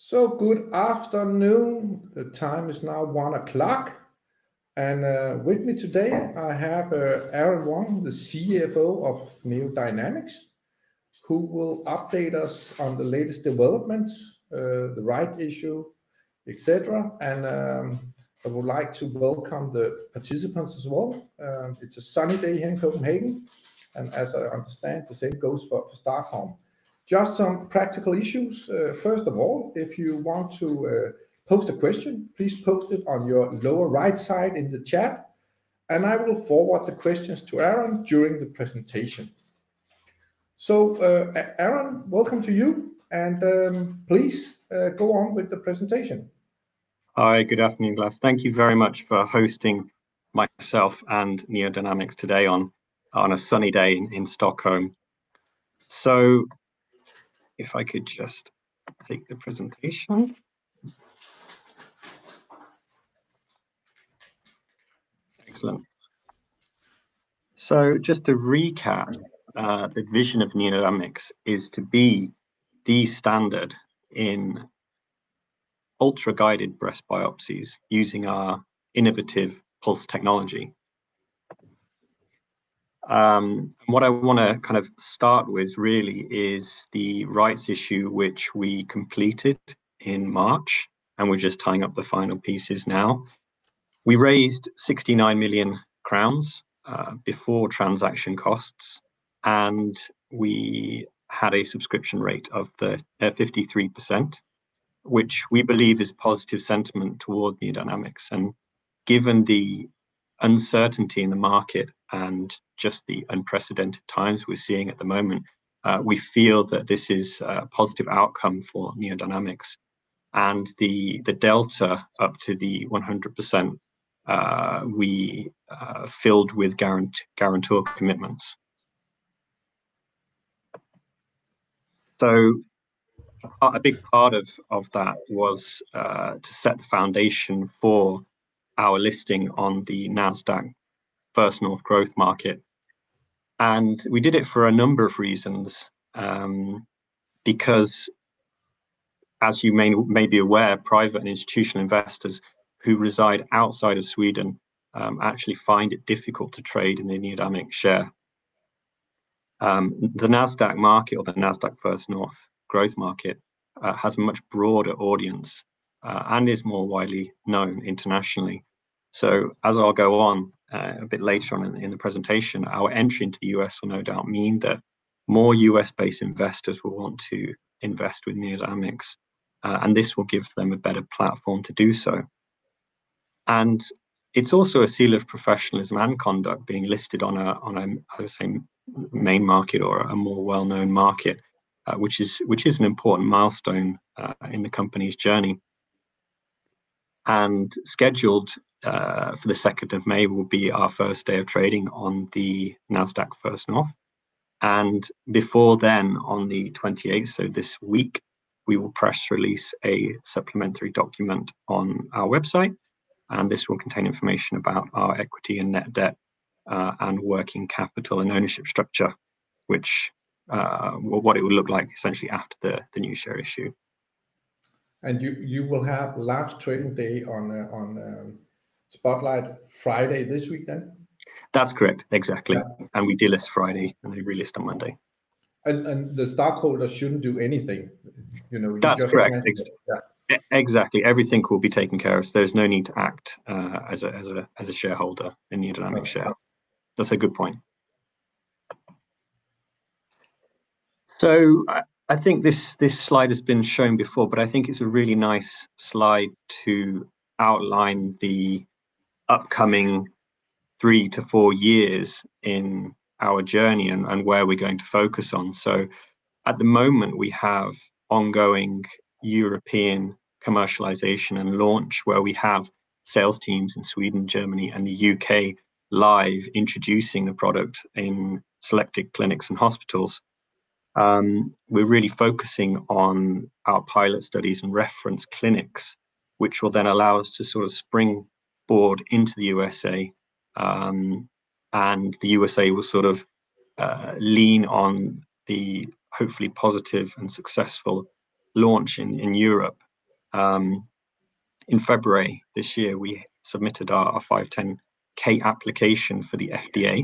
So good afternoon. The time is now 1 o'clock. And with me today, I have Aaron Wong, the CFO of NeoDynamics, who will update us on the latest developments, the right issue, etc. And I would like to welcome the participants as well. It's a sunny day here in Copenhagen. And as I understand, the same goes for Stockholm. Just some practical issues. First of all, if you want to post a question, please post it on your lower right side in the chat, and I will forward the questions to Aaron during the presentation. So, Aaron, welcome to you, and please go on with the presentation. Hi, good afternoon, Glass. Thank you very much for hosting myself and NeoDynamics today on a sunny day in Stockholm. So, if I could just take the presentation. Excellent. So just to recap, the vision of NeoDynamics is to be the standard in ultra-guided breast biopsies using our innovative pulse technology. What I want to kind of start with really is the rights issue, which we completed in March, and we're just tying up the final pieces now. We raised 69 million crowns before transaction costs, and we had a subscription rate of 53%, which we believe is positive sentiment toward NeoDynamics. And given the uncertainty in the market and just the unprecedented times we're seeing at the moment, we feel that this is a positive outcome for NeoDynamics. And the delta up to the 100% we filled with guarantor commitments. So a big part of that was to set the foundation for our listing on the NASDAQ First North Growth Market. And we did it for a number of reasons, because as you may be aware, private and institutional investors who reside outside of Sweden actually find it difficult to trade in the NeoDynamics share. The NASDAQ market, or the NASDAQ First North Growth Market, has a much broader audience and is more widely known internationally. So as I'll go on a bit later on in the presentation, our entry into the US will no doubt mean that more US-based investors will want to invest with NeoDynamics, and this will give them a better platform to do so. And it's also a seal of professionalism and conduct being listed on a I would say, main market or a more well-known market, which is an important milestone in the company's journey. And scheduled for the 2nd of May will be our first day of trading on the NASDAQ First North. And before then, on the 28th, so this week, we will press release a supplementary document on our website. And this will contain information about our equity and net debt and working capital and ownership structure, which what it would look like essentially after the new share issue. And you will have last trading day on Spotlight Friday this week then? That's correct, exactly. Yeah. And we delist Friday and they relist on Monday. And the stockholders shouldn't do anything, you know. That's correct. Exactly. Everything will be taken care of. So there's no need to act as a shareholder in NeoDynamics share. That's a good point. So I think this slide has been shown before, but I think it's a really nice slide to outline the upcoming 3 to 4 years in our journey and where we're going to focus on. So at the moment, we have ongoing European commercialization and launch, where we have sales teams in Sweden, Germany, and the UK live introducing the product in selected clinics and hospitals. We're really focusing on our pilot studies and reference clinics, which will then allow us to sort of springboard into the USA, and the USA will sort of lean on the hopefully positive and successful launch in Europe In February this year, we submitted our 510(k) application for the FDA,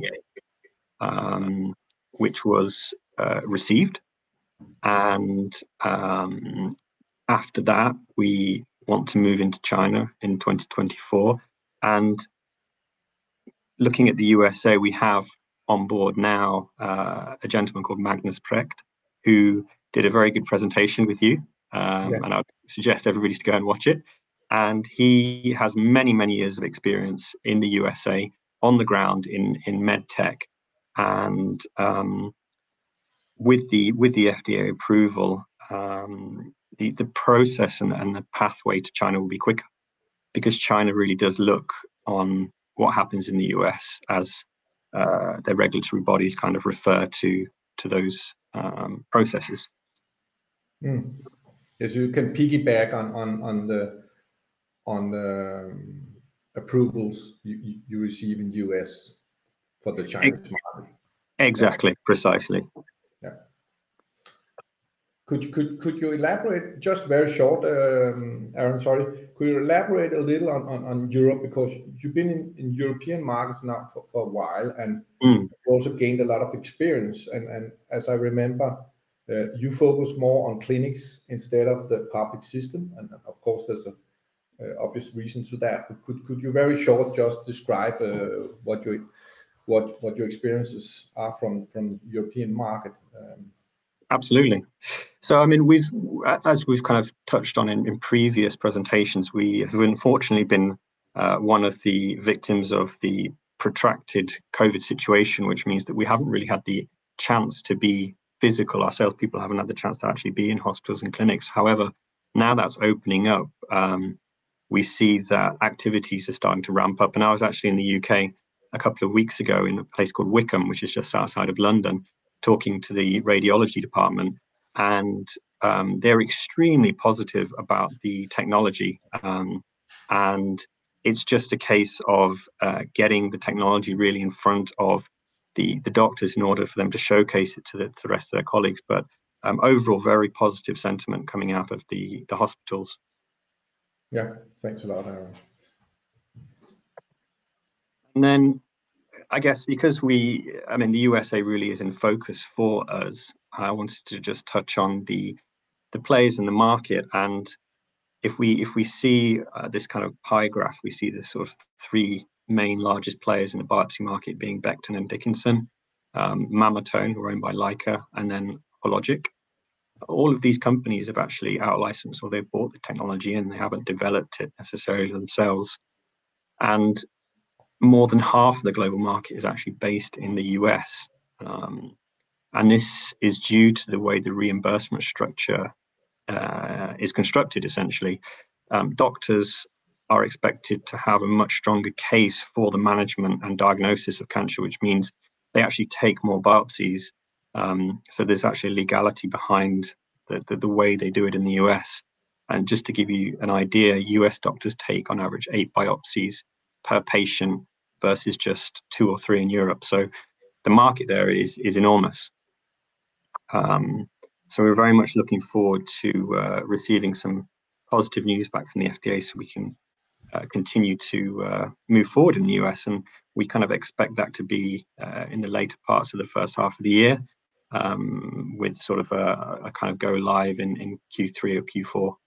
which was received. And after that, we want to move into China in 2024. And looking at the USA, we have on board now a gentleman called Magnus Precht, who did a very good presentation with you. And I would suggest everybody to go and watch it. And he has many, many years of experience in the USA on the ground in med tech. And with the FDA approval, the process and the pathway to China will be quicker, because China really does look on what happens in the US as their regulatory bodies kind of refer to those processes. Yes, you can piggyback on the approvals you receive in US for the Chinese market. Exactly, precisely. Yeah. Could you elaborate, just very short, Aaron, sorry, could you elaborate a little on Europe, because you've been in European markets now for a while, and you also gained a lot of experience, and as I remember, you focus more on clinics instead of the public system, and of course there's a obvious reason to that. But could you very short just describe what your experiences are from the European market? Absolutely. So, I mean, as we've kind of touched on in previous presentations, we have unfortunately been one of the victims of the protracted COVID situation, which means that we haven't really had the chance to be physical. Our salespeople haven't had the chance to actually be in hospitals and clinics. However, now that's opening up, we see that activities are starting to ramp up. And I was actually in the UK a couple of weeks ago in a place called Wickham, which is just outside of London, talking to the radiology department, and they're extremely positive about the technology. And it's just a case of getting the technology really in front of the doctors in order for them to showcase it to the rest of their colleagues. But overall, very positive sentiment coming out of the hospitals. Yeah, thanks a lot, Aaron. And then I guess because the USA really is in focus for us, I wanted to just touch on the players in the market. And if we see this kind of pie graph, we see the sort of three main largest players in the biopsy market being Becton and Dickinson, Mammotome, who are owned by Leica, and then Hologic. All of these companies have actually out-licensed, or they've bought the technology and they haven't developed it necessarily themselves. And more than half of the global market is actually based in the US. And this is due to the way the reimbursement structure is constructed, essentially. Doctors are expected to have a much stronger case for the management and diagnosis of cancer, which means they actually take more biopsies. So there's actually legality behind the way they do it in the US. And just to give you an idea, US doctors take on average 8 biopsies per patient versus just 2 or 3 in Europe. So the market there is enormous. So we're very much looking forward to receiving some positive news back from the FDA so we can continue to move forward in the US. And we kind of expect that to be in the later parts of the first half of the year, with sort of a kind of go live in Q3 or Q4.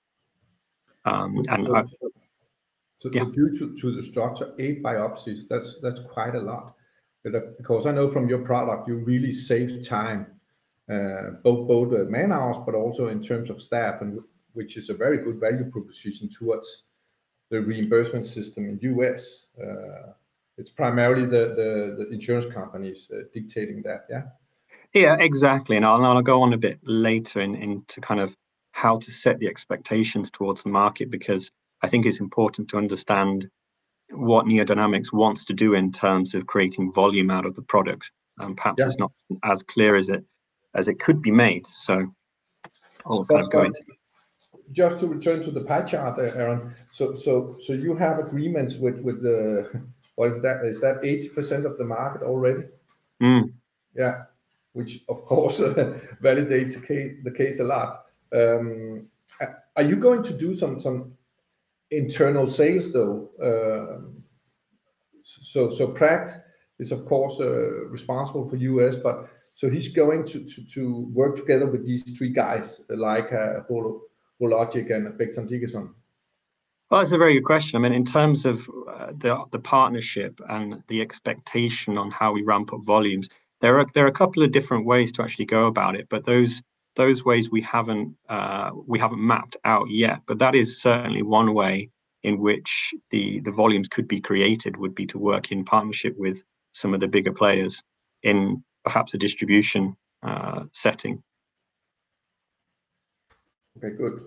So due to the structure, 8 biopsies, that's quite a lot. But, because I know from your product, you really save time, both man hours, but also in terms of staff, and which is a very good value proposition towards the reimbursement system in US. It's primarily the insurance companies dictating that, yeah? Yeah, exactly. And I'll go on a bit later into kind of how to set the expectations towards the market, because I think it's important to understand what NeoDynamics wants to do in terms of creating volume out of the product. Perhaps it's not as clear as it could be made. So I'll kind of go into it. Just to return to the pie chart, Aaron. So you have agreements with the, what is that? Is that 80% of the market already? Yeah, which of course validates the case a lot. Are you going to do some internal sales though? So Pract is of course responsible for US, but so he's going to work together with these three guys like Hologic and Becton Dickinson. Well, that's a very good question. I mean, in terms of the partnership and the expectation on how we ramp up volumes, there are a couple of different ways to actually go about it, but those ways we haven't mapped out yet. But that is certainly one way in which the volumes could be created, would be to work in partnership with some of the bigger players in perhaps a distribution setting. Okay, good.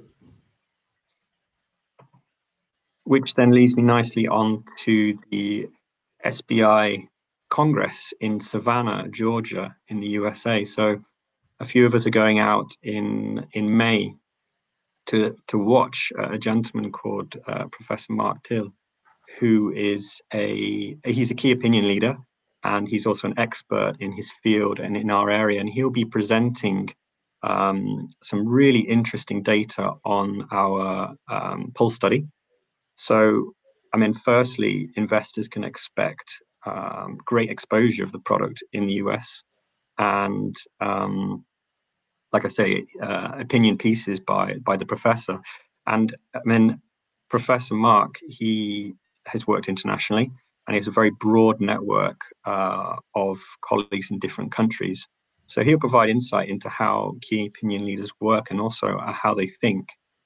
Which then leads me nicely on to the SBI Congress in Savannah, Georgia, in the USA. So a few of us are going out in May to watch a gentleman called Professor Mark Till, who is he's a key opinion leader, and he's also an expert in his field and in our area, and he'll be presenting some really interesting data on our pulse study. So, I mean, firstly, investors can expect great exposure of the product in the US, and like I say, opinion pieces by the professor. And I mean, Professor Mark, he has worked internationally, and he has a very broad network of colleagues in different countries. So he'll provide insight into how key opinion leaders work and also how they think.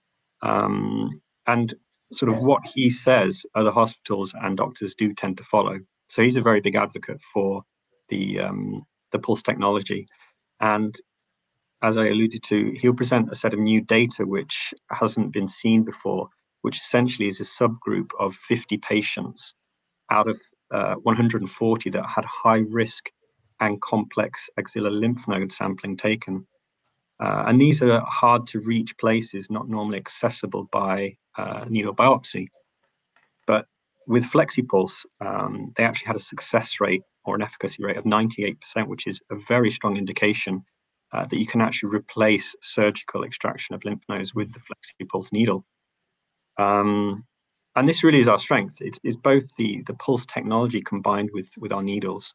And sort of what he says, other hospitals and doctors do tend to follow. So he's a very big advocate for the pulse technology. And as I alluded to, he'll present a set of new data which hasn't been seen before, which essentially is a subgroup of 50 patients out of 140 that had high risk and complex axillary lymph node sampling taken. And these are hard to reach places, not normally accessible by needle biopsy. But with FlexiPulse, they actually had a success rate or an efficacy rate of 98%, which is a very strong indication that you can actually replace surgical extraction of lymph nodes with the FlexiPulse needle. And this really is our strength. It's both the pulse technology combined with our needles.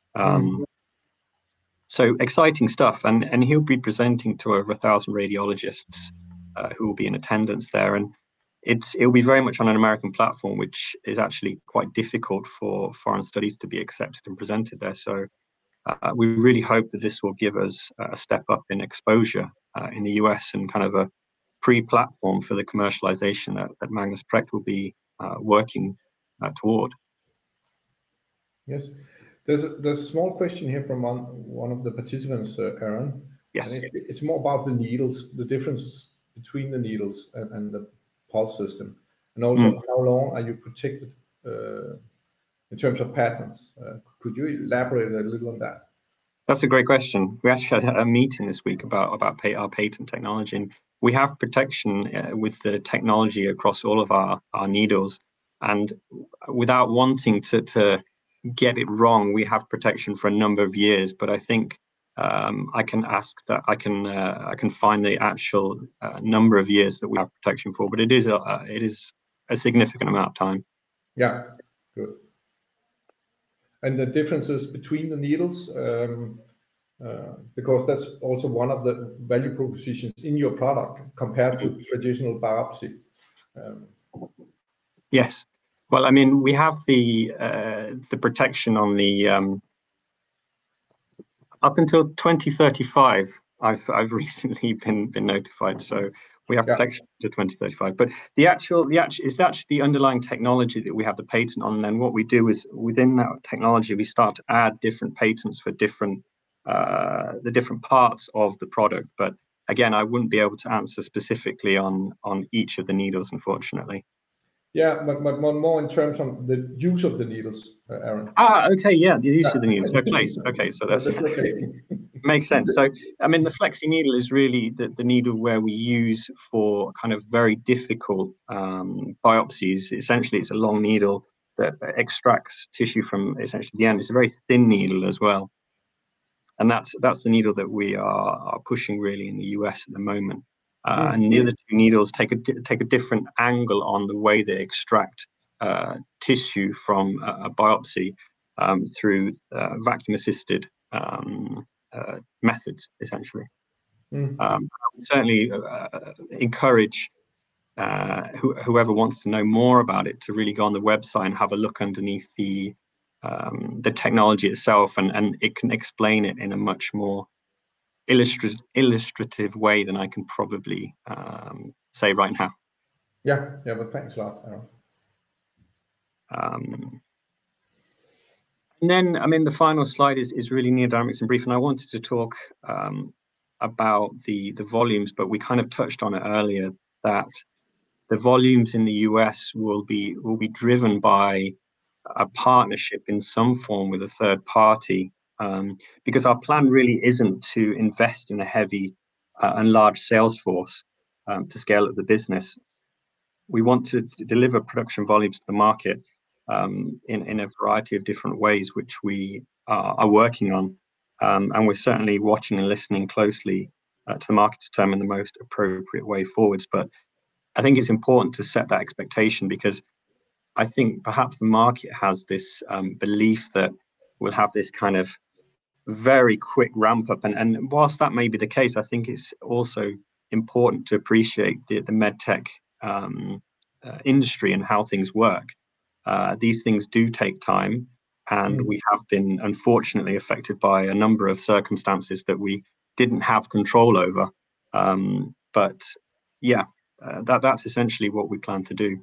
So exciting stuff, and he'll be presenting to over 1,000 radiologists who will be in attendance there, and it'll be very much on an American platform, which is actually quite difficult for foreign studies to be accepted and presented there. So we really hope that this will give us a step up in exposure in the US and kind of a pre-platform for the commercialization that Magnus Pract will be working toward. Yes. There's a small question here from one of the participants, Aaron. Yes. And it's more about the needles, the differences between the needles and the pulse system, and also how long are you protected in terms of patents? Could you elaborate a little on that? That's a great question. We actually had a meeting this week about our patent technology, and we have protection with the technology across all of our needles. And without wanting to get it wrong, we have protection for a number of years. But I think I can I can find the actual number of years that we have protection for. But it is a significant amount of time. Yeah, good. And the differences between the needles, because that's also one of the value propositions in your product compared to traditional biopsy. Yes. Well, I mean, we have the protection on the up until 2035. I've recently been notified, so we have protection to 2035. But the actual it's actually the underlying technology that we have the patent on. And then what we do is within that technology, we start to add different patents for different the different parts of the product. But again, I wouldn't be able to answer specifically on each of the needles, unfortunately. Yeah, but more in terms of the use of the needles, Aaron. Okay, yeah, the use of the needles. Okay, so that's okay. Makes sense. So, I mean, the Flexi needle is really the needle where we use for kind of very difficult biopsies. Essentially, it's a long needle that extracts tissue from essentially the end. It's a very thin needle as well. And that's the needle that we are pushing really in the US at the moment. and the other two needles take a different angle on the way they extract tissue from a biopsy through vacuum-assisted methods, essentially. I would certainly encourage whoever wants to know more about it to really go on the website and have a look underneath the technology itself, and it can explain it in a much more illustrative way than I can probably say right now. Yeah, but thanks a lot, Aaron. And then, I mean, the final slide is really NeoDynamics in brief, and I wanted to talk about the volumes, but we kind of touched on it earlier, that the volumes in the US will be driven by a partnership in some form with a third party, because our plan really isn't to invest in a heavy and large sales force to scale up the business. We want to deliver production volumes to the market in a variety of different ways, which we are working on. And we're certainly watching and listening closely to the market to determine the most appropriate way forwards. But I think it's important to set that expectation, because I think perhaps the market has this belief that we'll have this kind of very quick ramp up. And whilst that may be the case, I think it's also important to appreciate the medtech industry and how things work. These things do take time, and we have been unfortunately affected by a number of circumstances that we didn't have control over. But yeah, that's essentially what we plan to do.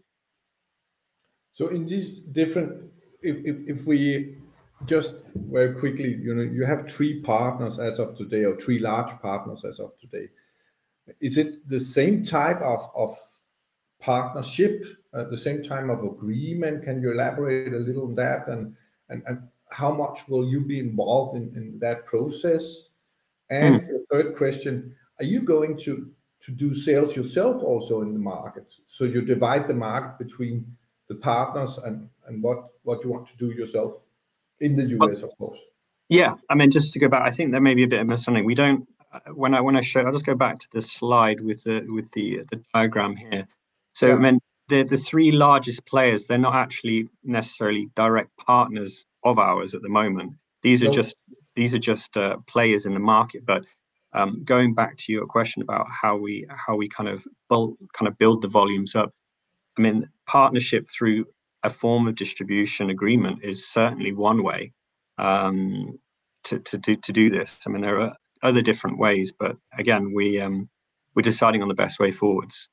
So in these different, if we just very quickly, you have 3 partners as of today, or 3 large partners as of today. Is it the same type of partnership, the same type of agreement? Can you elaborate a little on that, and how much will you be involved in that process? And the third question, are you going to do sales yourself also in the market? So you divide the market between the partners and what you want to do yourself in the US, of course. Yeah, I mean, just to go back, I think there may be a bit of misunderstanding. We don't. When I show, I'll just go back to the slide with the diagram here. So I mean, the 3 largest players, they're not actually necessarily direct partners of ours at the moment. These are just players in the market. But going back to your question about how we kind of build the volumes up, I mean, partnership through a form of distribution agreement is certainly one way to do this. I mean, there are other different ways, but again, we're deciding on the best way forwards.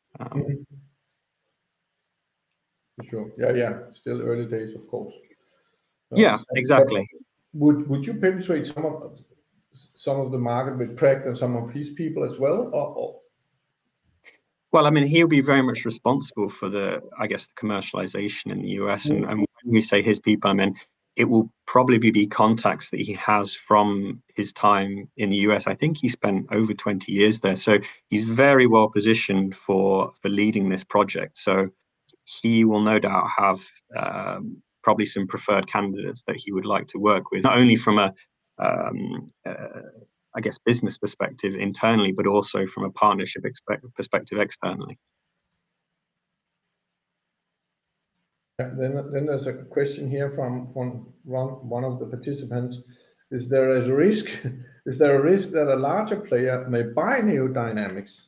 Sure. Yeah. Still early days, of course. Yeah, exactly. Would you penetrate some of the market with Precht and some of his people as well, or? Well, I mean, he'll be very much responsible for the commercialization in the US. And when we say his people, I mean, it will probably be contacts that he has from his time in the US. I think he spent over 20 years there. So he's very well positioned for leading this project. So he will no doubt have probably some preferred candidates that he would like to work with, not only from a business perspective internally, but also from a partnership perspective externally. Then there's a question here from one of the participants. Is there a risk that a larger player may buy NeoDynamics?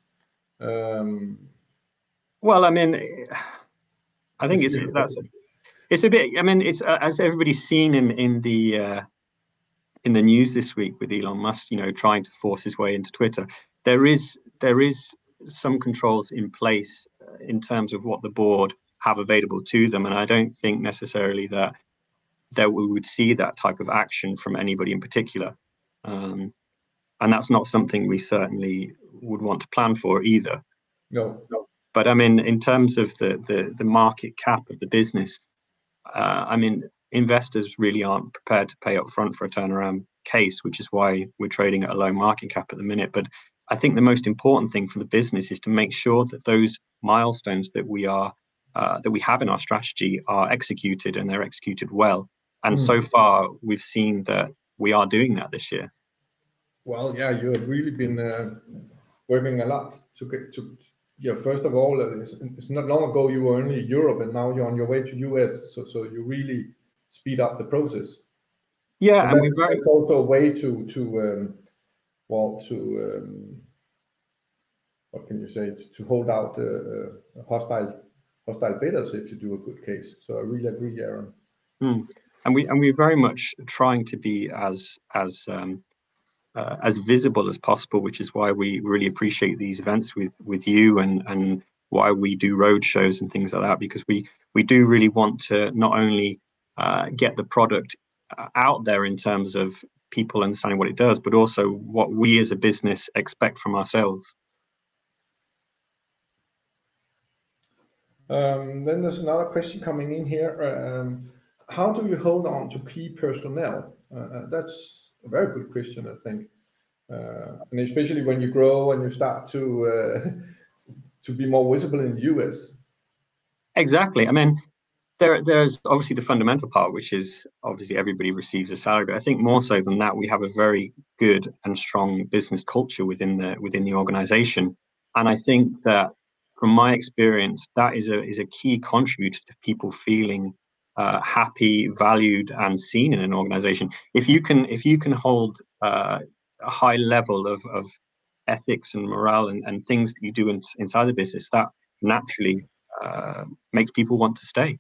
Well, I mean, I think it's a bit. I mean, it's as everybody's seen in the news this week with Elon Musk, trying to force his way into Twitter. There is some controls in place in terms of what the board have available to them, and I don't think necessarily that we would see that type of action from anybody in particular, and that's not something we certainly would want to plan for either. No. But I mean, in terms of the market cap of the business, I mean, investors really aren't prepared to pay up front for a turnaround case, which is why we're trading at a low market cap at the minute. But I think the most important thing for the business is to make sure that those milestones that we have in our strategy are executed, and they're executed well. And so far, we've seen that we are doing that this year. Well, yeah, you have really been working a lot to get to. Yeah, first of all, it's not long ago you were only in Europe, and now you're on your way to US. So you really speed up the process. Yeah, and that's also a way to what can you say, to hold out hostile bidders if you do a good case. So I really agree, Aaron. And we're very much trying to be as visible as possible, which is why we really appreciate these events with you, and why we do road shows and things like that, because we do really want to not only get the product out there in terms of people understanding what it does, but also what we as a business expect from ourselves. Then there's another question coming in here. How do you hold on to key personnel? That's a very good question, I think. And especially when you grow and you start to be more visible in the US. Exactly. I mean, there's obviously the fundamental part, which is obviously everybody receives a salary. But I think more so than that, we have a very good and strong business culture within the organization. And I think that from my experience, that is a key contributor to people feeling happy, valued, and seen in an organization. If you can hold a high level of ethics and morale and things that you do inside the business, that naturally makes people want to stay.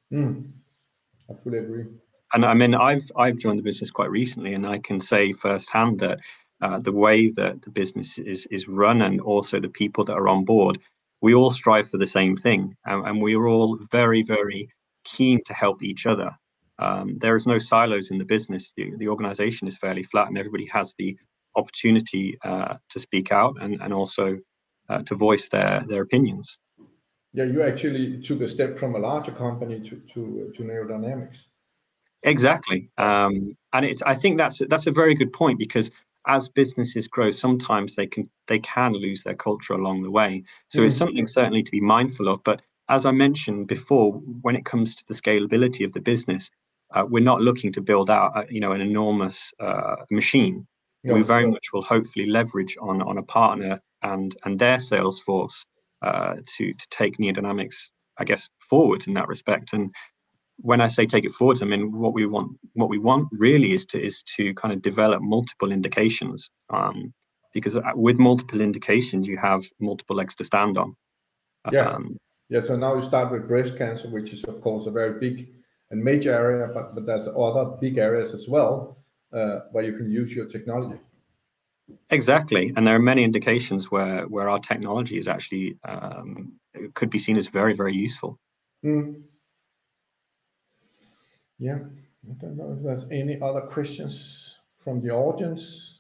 I fully agree. And I mean, I've joined the business quite recently, and I can say firsthand that the way that the business is run, and also the people that are on board, we all strive for the same thing, and we are all very, very keen to help each other. There is no silos in the business. The organization is fairly flat, and everybody has the opportunity to speak out and also to voice their opinions. Yeah, you actually took a step from a larger company to Neo Dynamics. Exactly, and I think that's a very good point, because as businesses grow, sometimes they can lose their culture along the way. So it's something certainly to be mindful of. But as I mentioned before, when it comes to the scalability of the business, we're not looking to build out an enormous machine. No, we very much will hopefully leverage on a partner and their sales force to take Neo Dynamics, I guess, forward in that respect. And when I say take it forward, I mean what we want really is to kind of develop multiple indications, because with multiple indications you have multiple legs to stand on. So now you start with breast cancer, which is of course a very big and major area, but there's other big areas as well where you can use your technology. Exactly, and there are many indications where our technology is actually could be seen as very, very useful. Yeah, I don't know if there's any other questions from the audience.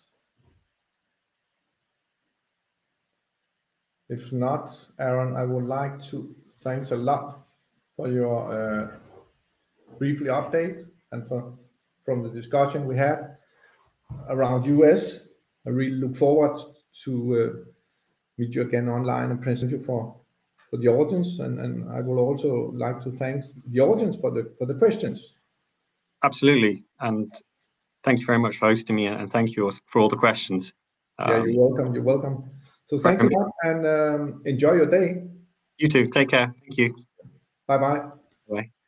If not, Aaron, I would like to thanks a lot for your briefly update and from the discussion we had around US. I really look forward to meet you again online and present you for the audience. And I would also like to thank the audience for the questions. Absolutely, and thank you very much for hosting me, and thank you for all the questions. Yeah, you're welcome. You're welcome. So thanks a lot, and enjoy your day. You too. Take care. Thank you. Bye-bye. Bye.